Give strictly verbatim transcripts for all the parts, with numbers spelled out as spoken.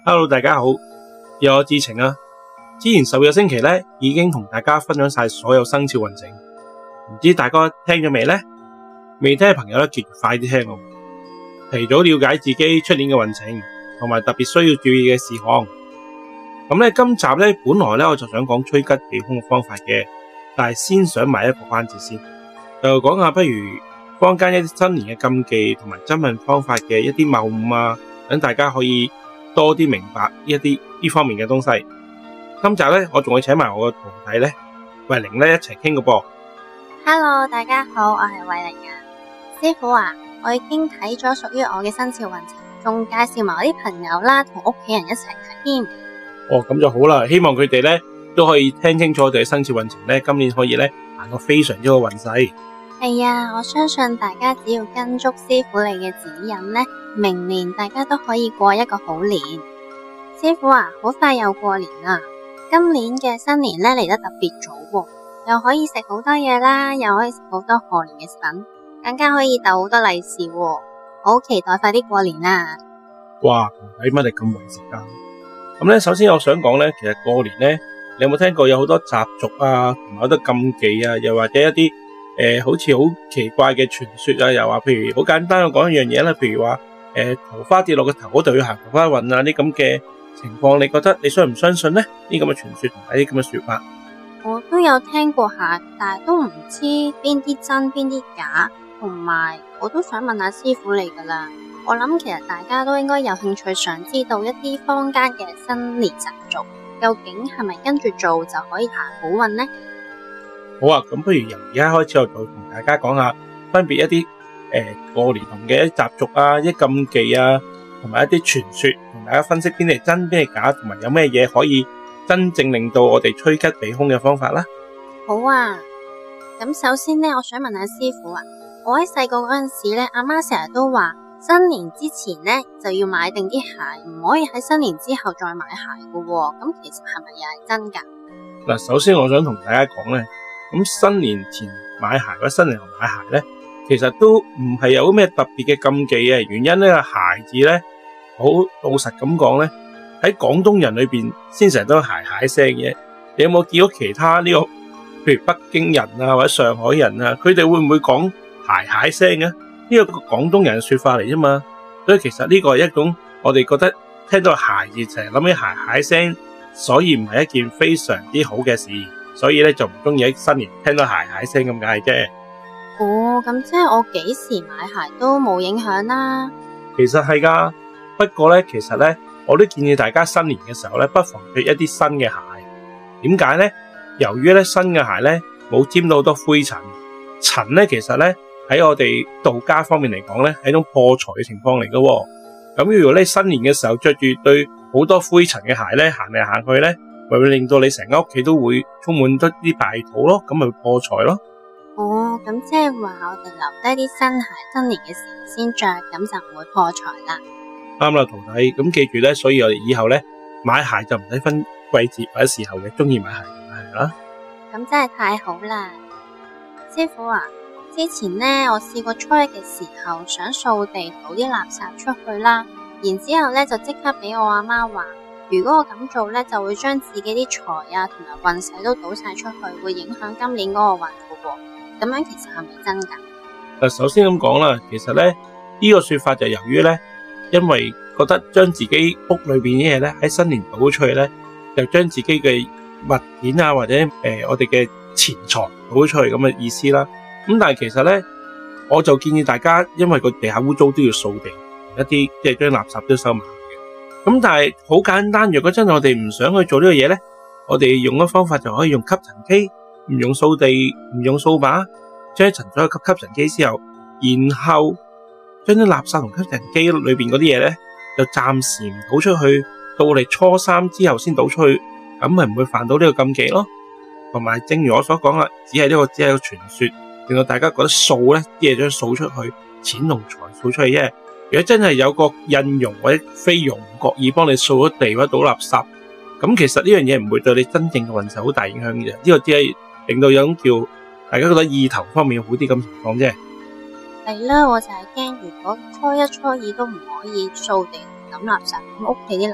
Hello， 大家好，又我智澄啊。之前十個星期咧，已經同大家分享晒所有生肖運程，唔知大家聽咗未呢？未聽嘅朋友咧，記住快啲聽咯，提早了解自己出年嘅運程，同埋特別需要注意嘅事項。咁咧，今集咧本來咧我就想講趨吉避凶嘅方法嘅，但係先想買一個關子先，就講下不如坊間一啲新年嘅禁忌同埋增運方法嘅一啲謬誤啊，等大家可以多啲明白一啲呢方面嘅東西。今集咧，我仲會請埋我個徒弟咧，慧玲咧一齊傾個噃。 Hello， 大家好，我係慧玲啊。師傅啊，我已經睇咗屬於我嘅生肖運程，仲介紹埋我啲朋友啦，同屋企人一齊睇添。 哦，咁就好啦。希望佢哋咧都可以聽清楚我哋嘅生肖運程咧，今年可以咧行個非常之好運勢。 係啊，我相信大家只要跟足師傅你嘅指引咧，明年大家都可以過一個好年。師傅啊，好快又過年啦！今年嘅新年咧嚟得特別早喎，又可以食好多嘢啦，又可以食好多賀年嘅食品，更加可以逗好多利是喎，我好期待快啲過年啦！ 哇，睇乜你咁為食噶？咁咧，首先我想講咧，其實過年咧，你有冇聽過有好多習俗啊，同埋好多禁忌啊，又或者一啲誒、呃，好似好奇怪嘅傳說啊，又話譬如好簡單，我講一樣嘢啦，譬如話誒、呃，桃花跌落個頭嗰度要行桃花運啊，啲咁嘅情況，你覺得你相唔相信呢？呢咁嘅傳說同埋啲咁嘅說法， 我都有聽過下，但係都唔知邊啲真邊啲假，同埋我都想問下師傅你噶啦。我諗其實大家都應該有興趣想知道一啲坊間嘅新年習俗，究竟係咪跟住做就可以行好運呢？ 好啊，咁不如由而家開始我就同大家講下分別一啲誒、呃、過年同嘅一啲習俗啊，一啲禁忌啊，同埋一啲傳說，同大家分析邊啲係真邊係假，同埋有咩嘢可以真正令到我哋趨吉避凶嘅方法啦。 好啊，咁首先呢，我想問下師傅啊，我喺細個嗰陣時咧，阿媽成日都話新年之前呢就要買定啲鞋，唔可以喺新年之後再買鞋噶喎。咁其實係咪又係真噶？嗱， 首先我想同大家講咧，咁新年前買鞋或者新年後買鞋咧，其實都唔係有咩特別嘅禁忌嘅。原因呢個鞋字咧，好老實咁講咧，喺廣東人裏邊先成日都有鞋鞋聲嘅。你有冇見到其他呢個，譬如北京人啊或者上海人啊，佢哋會唔會講鞋鞋聲嘅？呢個廣東人嘅說法嚟啫嘛。所以其實呢個係一種我哋覺得聽到鞋字成日諗起鞋鞋聲，所以唔係一件非常之好嘅事。所以咧就唔中意喺新年聽到鞋鞋聲咁解啫。 哦，咁即係我幾時買鞋都冇影響啦。 其實係噶，不過咧，其實咧，我都建議大家新年嘅時候咧，不妨着一啲新嘅鞋。點解咧？由於咧新嘅鞋咧冇沾到好多灰塵，塵咧其實咧喺我哋道家方面嚟講咧係一種破財嘅情況嚟噶。咁如果你新年嘅時候着住對好多灰塵嘅鞋咧行嚟行去咧，咪會令到你成間屋企都會充滿咗啲敗土咯，咁咪會破財咯。 哦，咁即係話我哋留低啲新鞋，新年嘅時候先着，咁就唔會破財啦。 啱啦，徒弟，咁記住咧，所以我哋以後咧買鞋就唔使分季節或者時候嘅，中意買鞋就買鞋啦。 咁真係太好啦，師傅啊！之前咧我試過初一嘅時候想掃地倒啲垃圾出去啦，然之後咧就即刻俾我阿媽話，如果我咁做咧，就會將自己啲財啊同埋運勢都倒晒出去，會影響今年嗰個運噶喎。咁樣其實係咪真噶？ 嗱，首先咁講啦，其實咧呢個說法就由於咧，因為覺得將自己屋裏邊啲嘢咧喺新年倒出去咧，就將自己嘅物件啊或者誒、呃、我哋嘅錢財倒出去咁嘅意思啦。咁但係其實咧，我就建議大家，因為個地下污糟都要掃地，一啲即係將垃圾都收埋嘅。咁但係好簡單，如果真係我哋唔想去做呢個嘢咧，我哋用嘅方法就可以用吸塵機。唔用掃地，唔用掃把，將塵咗去吸吸塵機之後，然後將啲垃圾同吸塵機裏邊嗰啲嘢咧，就暫時唔倒出去，到我哋初三之後先倒出去，咁咪唔會犯到呢個禁忌咯。同埋，正如我所講啦，只係呢個只係個傳說，令到大家覺得掃咧，啲嘢將掃出去，錢同財掃出去啫。如果真係有個印傭或者菲傭唔覺意幫你掃咗地或者倒垃圾，咁其實呢樣嘢唔會對你真正嘅運勢好大影響嘅。呢個只係令到有種叫大家覺得意頭方面好啲咁情況啫。 係啦，我就係驚如果初一初二都唔可以掃地抌垃圾，咁屋企啲垃圾咪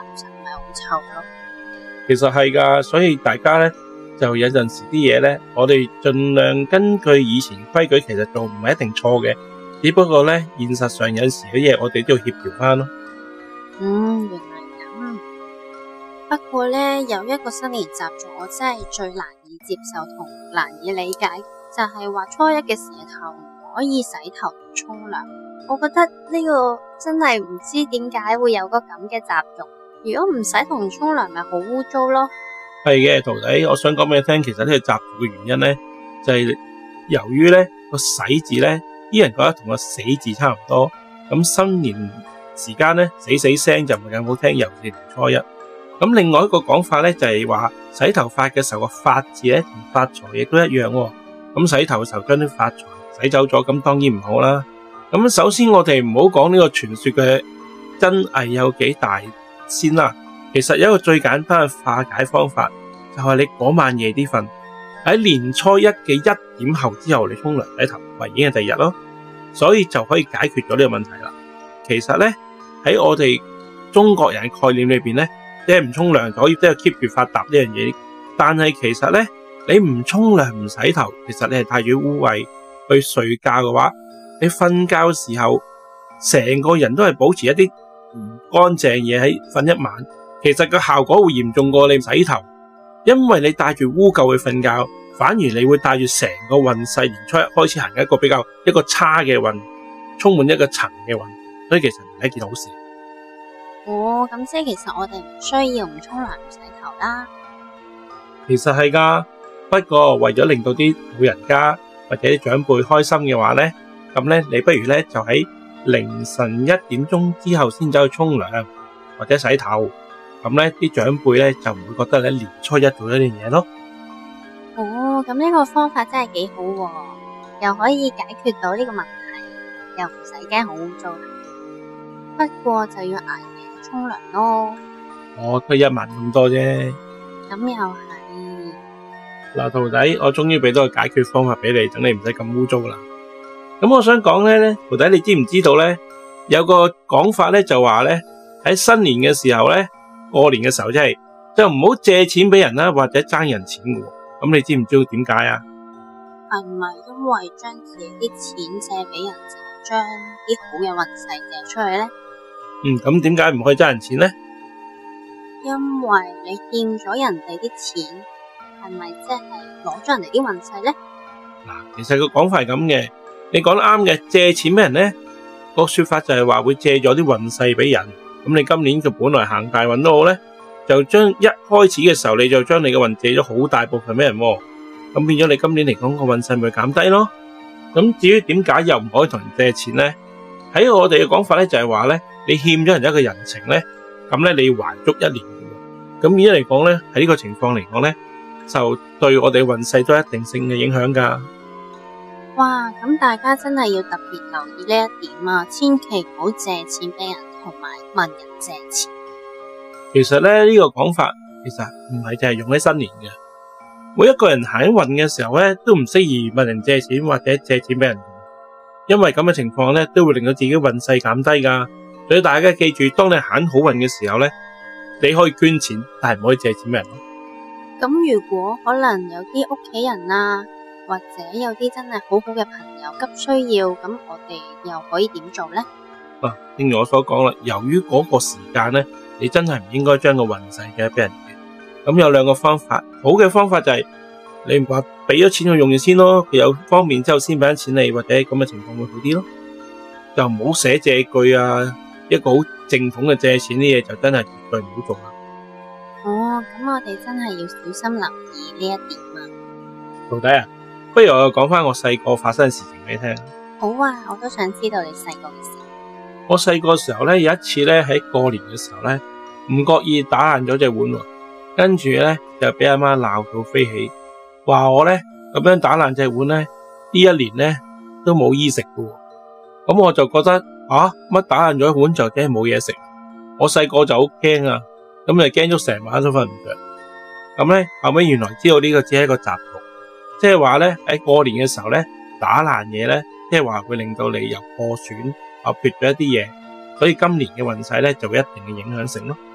係好臭咯。 其實係噶，所以大家咧就有陣時啲嘢咧，我哋盡量根據以前規矩，其實做唔係一定錯嘅，只不過咧現實上有陣時嘅嘢，我哋都要協調翻咯。 嗯，原來咁。不過咧有一個新年習俗，我真係最難以接受同難以理解，就係話初一嘅時候唔可以洗頭同沖涼。我覺得呢個真係唔知點解會有個咁嘅習俗。如果唔洗頭同沖涼，咪好污糟咯。 係嘅，徒弟，我想講俾你聽，其實呢個習俗嘅原因咧，就係由於咧個洗字咧，啲人覺得同個死字差唔多，咁新年時間咧死死聲就唔係咁好聽，尤其是年初一。咁另外一個講法咧就係話洗頭髮嘅時候個發字咧同發財亦都一樣喎。咁洗頭嘅時候將啲發財洗走咗，咁當然唔好啦。咁首先我哋唔好講呢個傳說嘅真偽有幾大先啦。其實有一個最簡單嘅化解方法，就係你嗰晚夜啲瞓，喺年初一嘅一點後之後你沖涼洗頭，咪已經係第二日咯。所以就可以解決咗呢個問題啦。其實咧喺我哋中國人嘅概念裏邊咧，即係唔沖涼就可以即係 keep 住發達呢樣嘢。但係其實咧，你唔沖涼唔洗頭，其實你係帶住污穢去睡覺嘅話，你瞓覺嘅時候成個人都係保持一啲唔乾淨嘢喺瞓一晚。其實個效果會嚴重過你洗頭，因為你帶住污垢去瞓覺，反而你會帶住成個運勢年初一開始行一個比較一個差嘅運，充滿一個塵嘅運，所以其實唔係一件好事。 哦，咁即係其實我哋唔需要唔沖涼唔洗頭啦。 其實係噶，不過為咗令到啲老人家或者啲長輩開心嘅話咧，咁咧你不如咧就喺凌晨一點鐘之後先走去沖涼或者洗頭。咁咧，啲長輩咧就唔會覺得你年初一做咗呢樣嘢咯。 哦，咁呢個方法真係幾好喎，又可以解決到呢個問題，又唔使驚好污糟。不過就要捱夜沖涼咯。 我得一晚咁多啫。 咁又係。 嗱，徒弟，我終於俾到個解決方法俾你，等你唔使咁污糟啦。咁我想講咧咧，徒弟你知唔知道咧？有個講法咧就話咧，喺新年嘅時候咧。過年嘅時候真係就唔好借錢俾人啦，或者爭人錢嘅。咁你知唔知道點解啊？ 係唔係因為將自己啲錢借俾人，就係將啲好嘅運勢借出去咧？ 嗯，咁點解唔可以爭人錢咧？ 因為你欠咗人哋啲錢，係咪即係攞咗人哋啲運勢咧？ 嗱，其實個講法係咁嘅，你講得啱嘅。借錢俾人咧，個說法就係話會借咗啲運勢俾人。咁你今年就本來行大運都好咧，就將一開始嘅時候你就將你嘅運借咗好大部分俾人，咁變咗你今年嚟講個運勢咪減低咯。咁至於點解又唔可以同人借錢咧？喺我哋嘅講法咧就係話咧，你欠咗人一個人情咧，咁咧你要還足一年嘅。咁而家嚟講咧，喺呢個情況嚟講咧，就對我哋運勢都有一定性嘅影響噶。 哇，咁大家真係要特別留意呢一點啊，千祈唔好借錢俾人。同埋問人借錢， 其實咧呢個講法其實唔係淨係用喺新年嘅，每一個人行運嘅時候咧都唔適宜問人借錢或者借錢俾人，因為咁嘅情況咧都會令到自己運勢減低噶。所以大家記住，當你行好運嘅時候咧，你可以捐錢，但係唔可以借錢俾人。咁如果可能有啲屋企人啊，或者有啲真係好好嘅朋友急需要，咁我哋又可以點做咧？ 啊，正如我所講啦，由於嗰個時間咧，你真係唔應該將個運勢嘅俾人嘅。咁有兩個方法，好嘅方法就係你唔話俾咗錢佢用住先咯，佢有方便之後先俾咗錢你，或者咁嘅情況會好啲咯。就唔好寫借據啊，一個好正統嘅借錢啲嘢就真係絕對唔好做啦。 哦，咁我哋真係要小心留意呢一點啊。 徒弟啊，不如我又講翻我細個發生嘅事情俾你聽。 好啊，我都想知道你細個嘅事。 我細個時候咧，有一次咧喺過年嘅時候咧，唔覺意打爛咗隻碗，跟住咧就俾阿媽鬧到飛起，話我咧咁樣打爛隻碗咧，呢一年咧都冇衣食㗎。咁我就覺得啊，乜打爛咗一碗就梗係冇嘢食？我細個就好驚啊，咁就驚咗成晚都瞓唔着。咁咧後尾原來知道呢個只係一個習俗，即係話咧喺過年嘅時候咧打爛嘢咧，即係話會令到你有破損。啊，缺咗一啲嘢，所以今年嘅運勢咧就會一定嘅影響性咯。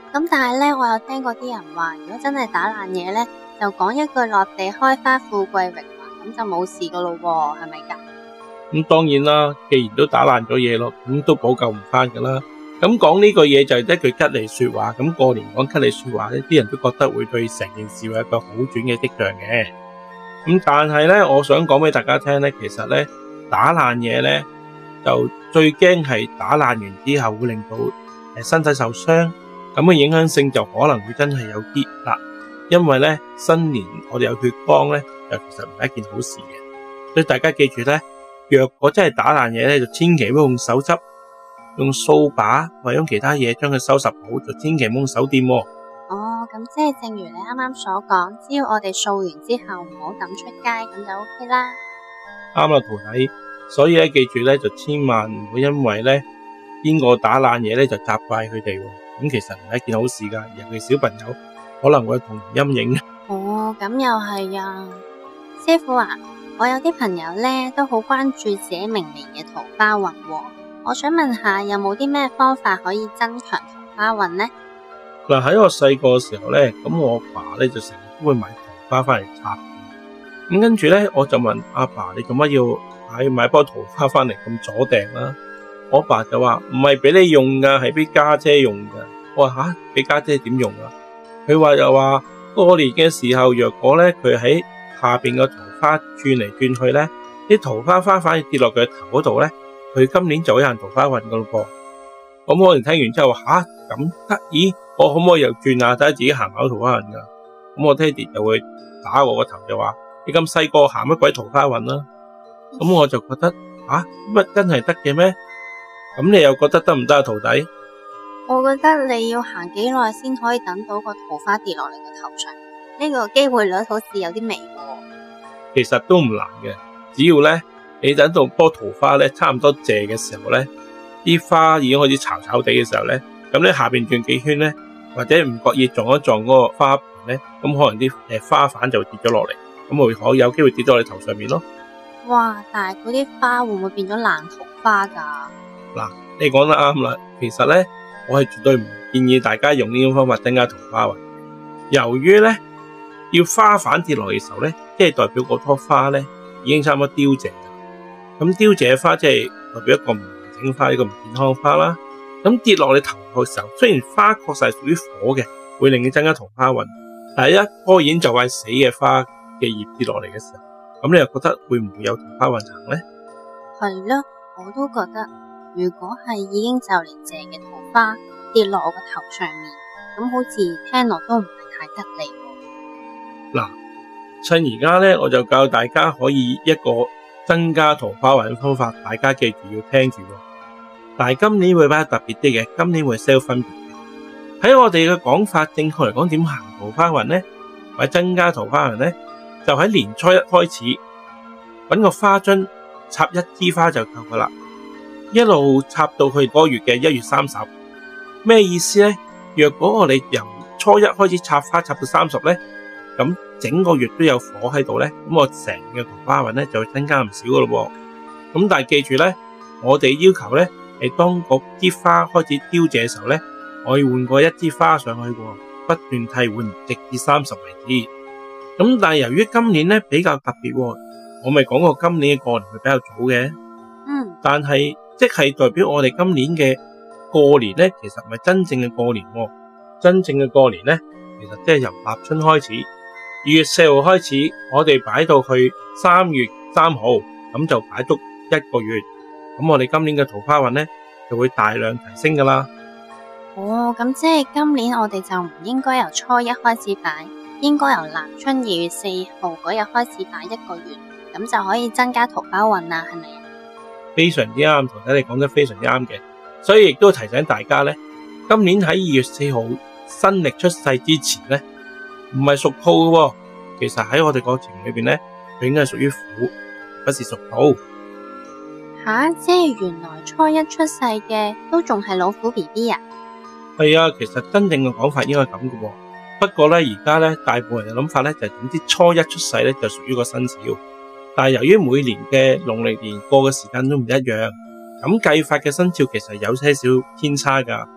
咁但係咧，我有聽過啲人話，如果真係打爛嘢咧，就講一句落地開花富貴榮華，咁就冇事噶咯喎，係咪噶？ 咁當然啦，既然都打爛咗嘢咯，咁都補救唔翻噶啦。咁講呢句嘢就係一句吉利說話，咁過年講吉利說話咧，啲人都覺得會對成件事有一個好轉嘅跡象嘅。咁但係咧，我想講俾大家聽咧，其實咧打爛嘢咧，就最驚係打爛完之後會令到誒身體受傷，咁嘅影響性就可能會真係有啲啦。因為咧新年我哋有血光咧，就其實唔係一件好事嘅，所以大家記住咧，若果真係打爛嘢咧，就千祈唔好用手執，用掃把或者用其他嘢將佢收拾好，就千祈唔好用手掂喎。 哦，咁即係正如你啱啱所講，只要我哋掃完之後唔好抌出街，咁就 OK 啦。 啱啦，徒弟。所以咧，記住咧，就千萬唔好因為咧邊個打爛嘢咧就責怪佢哋。咁其實唔係一件好事噶，尤其小朋友可能會有童年陰影。 哦，咁又係啊，師傅啊，我有啲朋友咧都好關注自己明年嘅桃花運喎。我想問下，有冇啲咩方法可以增強桃花運呢？ 嗱，喺我細個嘅時候咧，咁我阿爸咧就成日都會買桃花翻嚟插。咁跟住咧，我就問阿爸，你做乜要買買棵桃花翻嚟咁阻埞啦？我阿爸就話唔係俾你用噶，係俾家姐用噶。我話吓，俾家姐點用啊？佢話又話過年嘅時候，若果咧佢喺下邊個桃花轉嚟轉去咧，啲桃花花反而跌落佢頭嗰度咧，佢今年就會有人桃花運噶咯噃。咁我哋聽完之後話吓，咁得意，我可唔可以又轉下睇下自己行唔行桃花運噶？咁我爹哋就會打我個頭，就話你咁細個行乜鬼桃花運啦？咁我就覺得啊，乜真係得嘅咩？咁你又覺得得唔得啊，徒弟？ 我覺得你要行幾耐先可以等到個桃花跌落你個頭上，呢個機會率好似有啲微喎。 其實都唔難嘅，只要咧你等到棵桃花咧差唔多謝嘅時候咧，啲花已經開始巢巢地嘅時候咧，咁咧下邊轉幾圈咧，或者唔覺意撞一撞嗰個花盆咧，咁可能啲誒花瓣就跌咗落嚟，咁會可有機會跌咗你頭上面咯。 哇！但係嗰啲花會唔會變咗爛桃花噶？ 嗱，你講得啱啦。其實咧，我係絕對唔建議大家用呢種方法增加桃花運。由於咧要花瓣跌落嚟嘅時候咧，即係代表嗰棵花咧已經差唔多凋謝。咁凋謝嘅花即係代表一個唔完整花，一個唔健康嘅花啦。咁跌落你頭嘅時候，雖然花確實係屬於火嘅，會令你增加桃花運，但係一棵已經就快死嘅花嘅葉跌落嚟嘅時候，咁你又覺得會唔會有桃花運行咧？ 係咯，我都覺得，如果係已經就嚟謝嘅桃花跌落我個頭上面，咁好似聽落都唔係太吉利。 嗱，趁而家咧，我就教大家可以一個增加桃花運嘅方法，大家記住要聽住。但係今年會比較特別啲嘅，今年會 sell 分別嘅。喺我哋嘅講法，正確嚟講點行桃花運咧，或者增加桃花運咧，就喺年初一開始搵個花樽插一支花就夠噶啦，一路插到去嗰個月嘅一月三十。咩意思咧？若果我哋由初一開始插花插到三十咧，咁整個月都有火喺度咧，咁我成嘅桃花運咧就會增加唔少噶咯。咁但係記住咧，我哋要求咧係當嗰支花開始凋謝嘅時候咧，我要換過一支花上去，不斷替換，直至三十為止。咁但係由於今年咧比較特別，我咪講過今年嘅過年會比較早嘅。 嗯。但係即係代表我哋今年嘅過年咧，其實唔係真正嘅過年。真正嘅過年咧，其實即係由立春開始，二月四號開始，我哋擺到去三月三號，咁就擺足一個月。咁我哋今年嘅桃花運咧就會大量提升噶啦。 哦，咁即係今年我哋就唔應該由初一開始擺，應該由立春二月四號嗰日開始擺一個月，咁就可以增加桃花運啦，係咪啊？非常之啱， 徒弟你講得非常之啱嘅，所以亦都提醒大家咧，今年喺二月四號新曆出世之前咧，唔係屬兔嘅，其實喺我哋國情裏邊咧，佢應該係屬於虎，不是屬兔。 吓，即係原來初一出世嘅都仲係老虎 B B 啊？ 係啊，其實真正嘅講法應該係咁嘅。不過咧，而家咧大部分人嘅諗法咧就係總之初一出世咧就屬於個生肖，但係由於每年嘅農曆年過嘅時間都唔一樣，咁計法嘅生肖其實有些少偏差噶。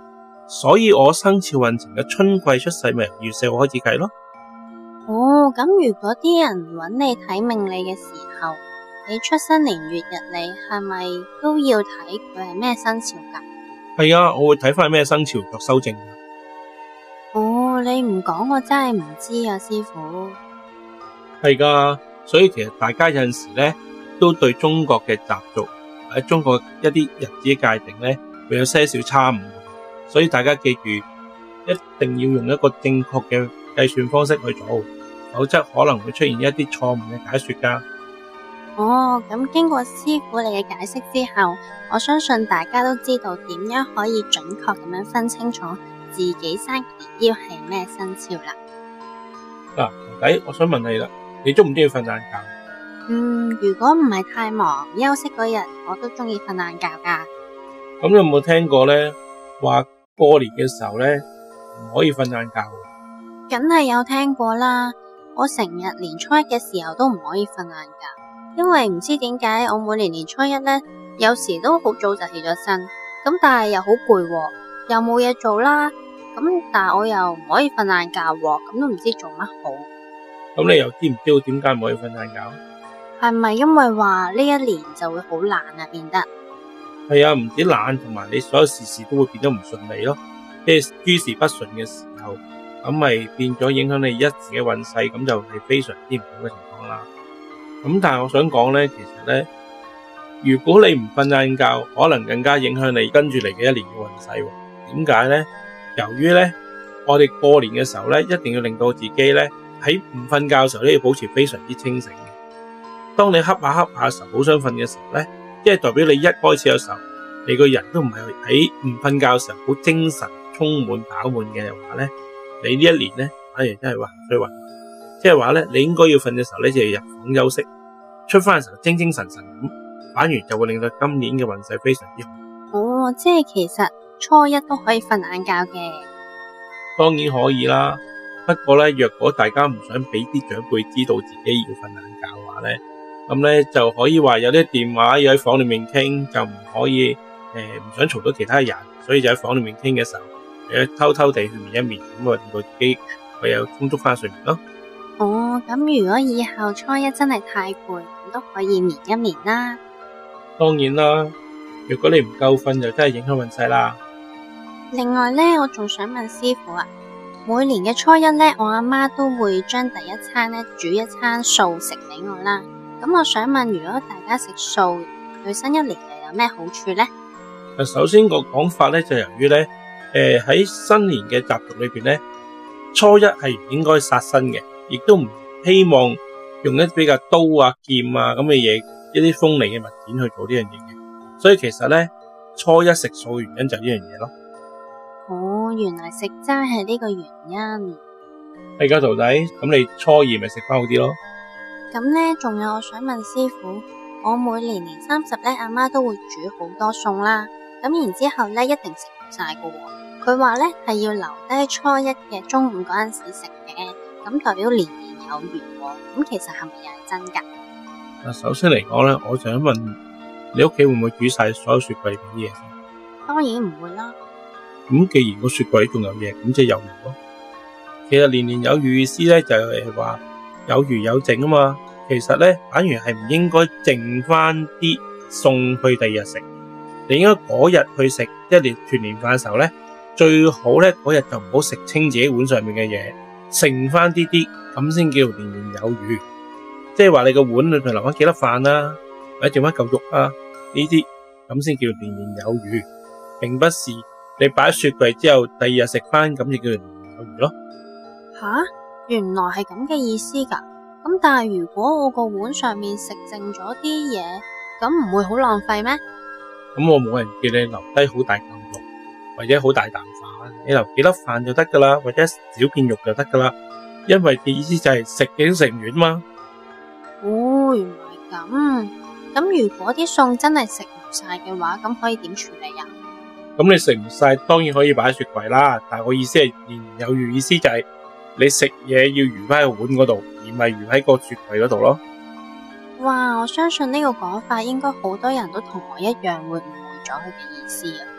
所以我生肖運程嘅春季出世咪由二月四號開始計咯。 哦，咁如果啲人揾你睇命理嘅時候，你出生年月日你係咪都要睇佢係咩生肖噶？ 係啊，我會睇翻咩生肖作修正。 哦，你唔講我真係唔知啊，師傅。 係噶，所以其實大家有陣時咧都對中國嘅習俗或者中國一啲日子嘅界定咧會有些少差誤，所以大家記住一定要用一個正確嘅計算方式去做，否則可能會出現一啲錯誤嘅解說噶。 哦，咁經過師傅你嘅解釋之後，我相信大家都知道點樣可以準確咁樣分清楚自己生嘅年標係咩生肖啦。 嗱，徒弟，我想問你啦，你中唔中意瞓晏覺？ 嗯，如果唔係太忙休息嗰日，我都中意瞓晏覺噶。 咁你有冇聽過咧？話過年嘅時候咧唔可以瞓晏覺？ 梗係有聽過啦，我成日年初一嘅時候都唔可以瞓晏覺。因為唔知點解，我每年年初一咧，有時都好早就起咗身，咁但係又好攰，又冇嘢做啦，咁但係我又唔可以瞓晏覺，咁都唔知做乜好。 咁你又知唔知道點解唔可以瞓晏覺？ 係咪因為話呢一年就會好懶啊？變得係啊，唔止懶，同埋你所有事事都會變得唔順利咯。即係諸事不順嘅時候，咁咪變咗影響你一時嘅運勢，咁就係非常之唔好嘅情況啦。咁但係我想講咧，其實咧，如果你唔瞓晏覺，可能更加影響你跟住嚟嘅一年嘅運勢。點解咧？由於咧，我哋過年嘅時候咧，一定要令到自己咧喺唔瞓覺嘅時候咧，要保持非常之清醒嘅。當你瞌下瞌下嘅時候，好想瞓嘅時候咧，即係代表你一開始嘅時候，你個人都唔係喺唔瞓覺嘅時候好精神、充滿飽滿嘅話咧，你呢一年咧反而真係話衰運。即係話咧，你應該要瞓嘅時候咧，就要入房休息，出翻嘅時候精精神神咁，反而就會令到今年嘅運勢非常之好。 哦，即係其實初一都可以瞓晏覺嘅。 當然可以啦，不過咧，若果大家唔想俾啲長輩知道自己要瞓晏覺嘅話咧，咁咧就可以話有啲電話要喺房裏面傾，就唔可以誒唔、呃、想嘈到其他人，所以就喺房裏面傾嘅時候，誒偷偷地去眠一眠，咁啊令到自己會有充足翻睡眠咯。 哦，咁如果以後初一真係太攰，咁都可以眠一眠啦。 當然啦，如果你唔夠瞓，就真係影響運勢啦。 另外咧，我仲想問師傅啊，每年嘅初一咧，我阿媽都會將第一餐咧煮一餐素食俾我啦。咁我想問，如果大家食素，對新一年又有咩好處咧？ 首先個講法咧就由於咧，誒、呃、喺新年嘅習俗裏邊咧，初一係唔應該殺生嘅。亦都唔希望用一啲比較刀啊、劍啊咁嘅嘢，一啲鋒利嘅物件去做呢樣嘢嘅。所以其實咧，初一食素嘅原因就係呢樣嘢咯。 哦，原來食齋係呢個原因。 係噶，徒弟，咁你初二咪食翻好啲咯。 咁咧，仲有我想問師傅，我每年年三十咧，阿媽都會煮好多餸啦。咁然之後咧，一定食唔晒噶。佢話咧係要留低初一嘅中午嗰陣時食嘅。咁代表年年有餘喎，咁其實係咪又係真噶？ 嗱，首先嚟講咧，我就想問你屋企會唔會煮晒所有雪櫃嗰啲嘢先？ 當然唔會啦。 咁既然個雪櫃仲有嘢，咁即係有餘咯。其實年年有餘意思咧，就係話有餘有剩啊嘛。其實咧，反而係唔應該剩翻啲餸去第二日食，你應該嗰日去食一年團年飯嘅時候咧，最好咧嗰日就唔好食清自己碗上面嘅嘢。剩翻啲啲咁先叫年年有餘，即係話你個碗裏邊留翻幾粒飯啦，或者剩翻嚿肉啊，呢啲咁先叫年年有餘，並不是你擺喺雪櫃之後第二日食翻咁就叫年年有餘咯。 吓，原來係咁嘅意思噶。咁但係如果我個碗上面食剩咗啲嘢，咁唔會好浪費咩？ 咁我冇人叫你留低好大嚿肉或者好大啖飯，你留幾粒飯就得噶啦，或者小片肉就得噶啦。因為嘅意思就係食嘅都食唔完嘛。 哦，原來咁。咁如果啲餸真係食唔晒嘅話，咁可以點處理啊？ 咁你食唔晒，當然可以擺喺雪櫃啦。但係我意思係年年有餘，意思就係你食嘢要餘翻喺個碗嗰度，而唔係餘喺個雪櫃嗰度咯。 哇，我相信呢個講法應該好多人都同我一樣會誤會咗佢嘅意思啊。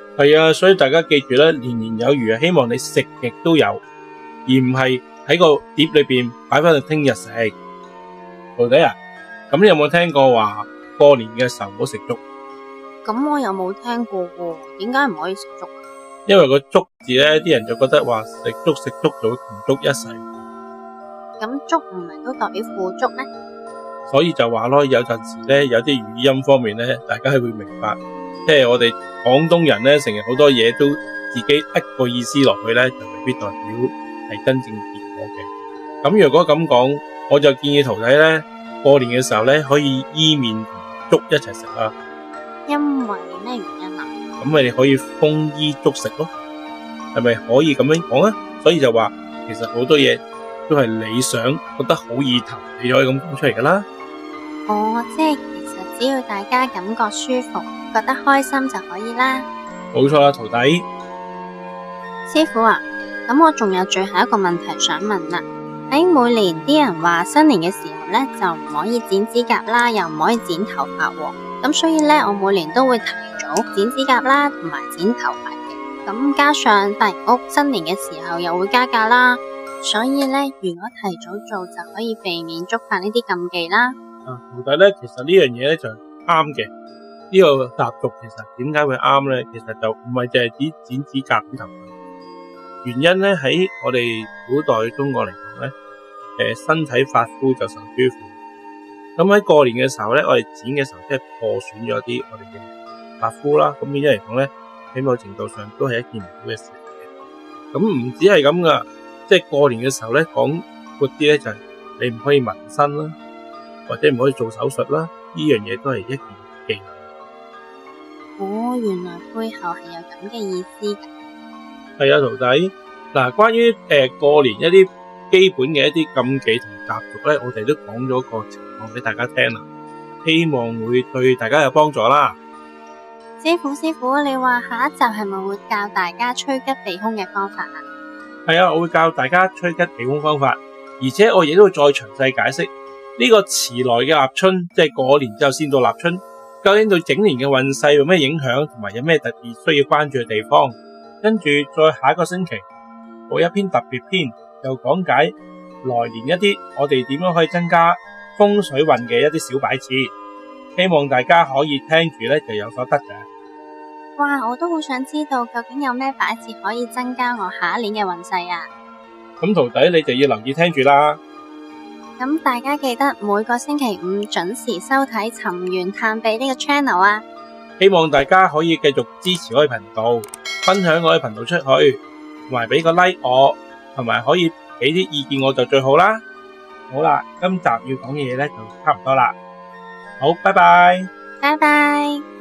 係啊，所以大家記住咧，年年有餘啊，希望你食極都有，而唔係喺個碟裏邊擺翻去聽日食。徒弟啊，咁你有冇聽過話過年嘅時候唔好食粥？ 咁我又冇聽過喎，點解唔可以食粥？ 因為個粥字咧，啲人就覺得話食粥食粥就會窮足一世。 咁粥唔係都代表富足咩？ 所以就話咯，有陣時咧，有啲語音方面咧，大家係會明白，即係我哋廣東人咧，成日好多嘢都自己一個意思落去咧，就未必代表係真正結果嘅。咁如果咁講，我就建議徒弟咧，過年嘅時候咧，可以伊麵同粥一齊食啊。 因為咩原因啊？ 咁你哋可以豐衣足食咯，係咪可以咁樣講啊？所以就話，其實好多嘢都係你想覺得好意頭，你就可以咁講出嚟噶啦。 哦，即係其實只要大家感覺舒服，覺得開心就可以啦。 冇錯啦，徒弟。 師傅啊，咁我仲有最後一個問題想問啦。喺每年啲人話新年嘅時候咧，就唔可以剪指甲啦，又唔可以剪頭髮喎。咁所以咧，我每年都會提早剪指甲啦，同埋剪頭髮嘅。咁加上大屋新年嘅時候又會加價啦，所以咧，如果提早做就可以避免觸犯呢啲禁忌啦。 啊，徒弟咧，其實呢樣嘢咧就啱嘅。呢個習俗其實點解會啱咧？其實就唔係淨係指剪指甲、剪頭髮。原因咧喺我哋古代中國嚟講咧，誒，身體髮膚就受諸父。咁喺過年嘅時候咧，我哋剪嘅時候即係破損咗啲我哋嘅髮膚啦。咁變咗嚟講咧，喺某程度上都係一件唔好嘅事嚟嘅。咁唔止係咁噶，即係過年嘅時候咧，講闊啲咧就係你唔可以紋身啦，或者唔可以做手術啦。呢樣嘢都係一件忌諱。 哦，原來背後係有咁嘅意思噶。 係啊，徒弟。嗱，關於誒、呃、過年一啲基本嘅一啲禁忌同習俗咧，我哋都講咗個情況俾大家聽啦，希望會對大家有幫助啦。 師傅，師傅，你話下一集係咪會教大家趨吉避凶嘅方法啊？ 係啊，我會教大家趨吉避凶方法，而且我亦都會再詳細解釋呢、這個遲來嘅立春，即係過年之後先到立春，究竟對整年嘅運勢有咩影響，同埋有咩特別需要關注嘅地方。跟住再下一個星期，播一篇特別篇，又講解來年一啲我哋點樣可以增加風水運嘅一啲小擺設，希望大家可以聽住咧就有所得嘅。 哇，我都好想知道究竟有咩擺設可以增加我下一年嘅運勢啊！ 咁徒弟你就要留意聽住啦。 咁大家記得每個星期五準時收睇尋源探秘呢個 channel 啊！ 希望大家可以繼續支持我嘅頻道，分享我嘅頻道出去，同埋俾個 like 我，同埋可以俾啲意見我就最好啦。好啦，今集要講嘅嘢咧就差唔多啦。好，拜拜。 拜拜。